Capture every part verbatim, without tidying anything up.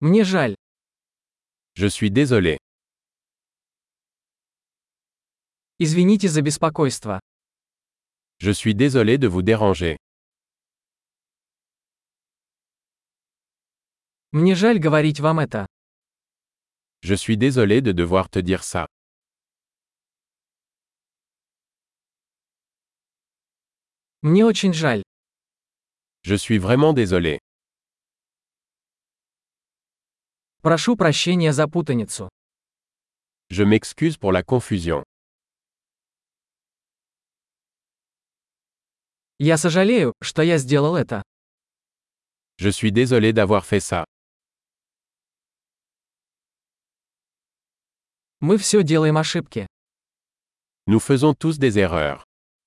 Мне жаль. Je suis désolé. Извините за беспокойство. Je suis désolé de vous déranger. Мне жаль говорить вам это. Je suis désolé de devoir te dire ça. Мне очень жаль. Je suis vraiment désolé. Прошу прощения за путаницу. Je m'excuse pour la confusion. Я сожалею, что я сделал это. Je suis désolé d'avoir fait ça. Мы все делаем ошибки. Nous faisons tous des erreurs.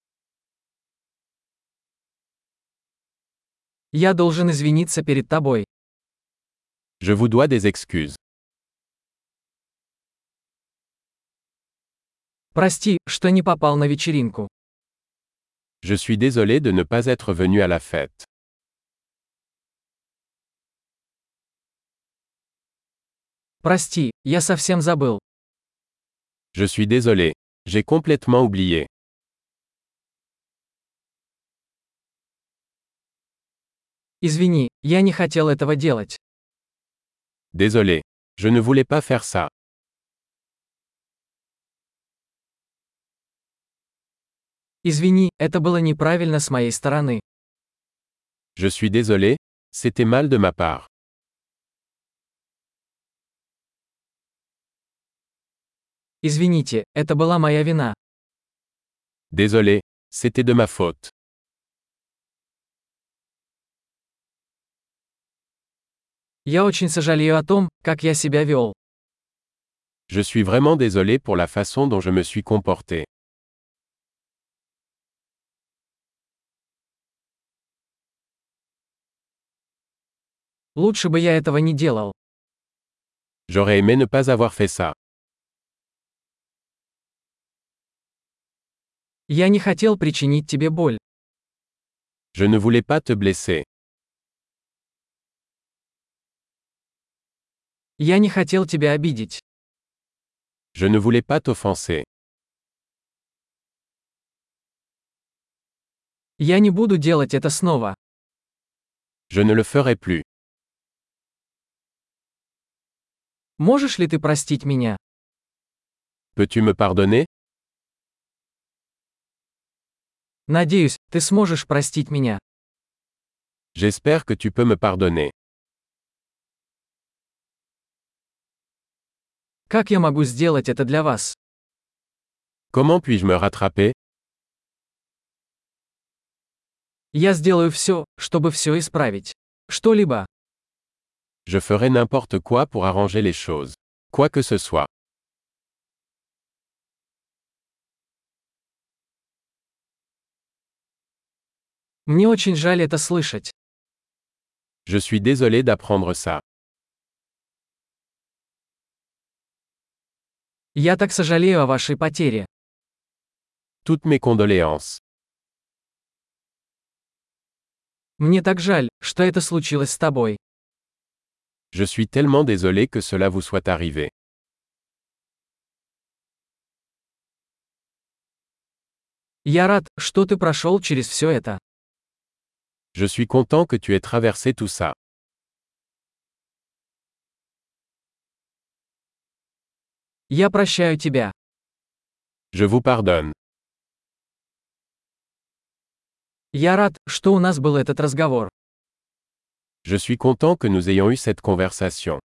Я должен извиниться перед тобой. Je vous dois des excuses. Прости, что не попал на вечеринку. Je suis désolé de ne pas être venu à la fête. Прости, я совсем забыл. Je suis désolé. J'ai complètement oublié. Извини, я не хотел этого делать. Désolé. Je ne voulais pas faire ça. Извини, это было неправильно с моей стороны. Je suis désolé. C'était mal de ma part. Извините, это была моя вина. Désolé. C'était de ma faute. Я очень сожалею о том, как я себя вел. Je suis vraiment désolé pour la façon dont je me suis comporté. Лучше бы я этого не делал. J'aurais aimé ne pas avoir fait ça. Я не хотел причинить тебе боль. Je ne voulais pas te blesser. Я не хотел тебя обидеть. Je ne voulais pas t'offenser. Я не буду делать это снова. Je ne le ferai plus. Можешь ли ты простить меня? Peux-tu me pardonner? Надеюсь, ты сможешь простить меня. J'espère que tu peux me pardonner. Как я могу сделать это для вас? Comment puis-je me rattraper? Я сделаю все, чтобы все исправить. Что-либо. Je ferai n'importe quoi pour arranger les choses. Quoi que ce soit. Мне очень жаль это слышать. Je suis désolé d'apprendre ça. Я так сожалею о вашей потере. Toutes mes condoléances. Мне так жаль, что это случилось с тобой. Je suis tellement désolé que cela vous soit arrivé. Я рад, что ты прошел через все это. Je suis content que tu aies traversé tout ça. Я прощаю тебя. Je vous pardonne. Я рад, что у нас был этот разговор. Je suis content que nous ayons eu cette conversation.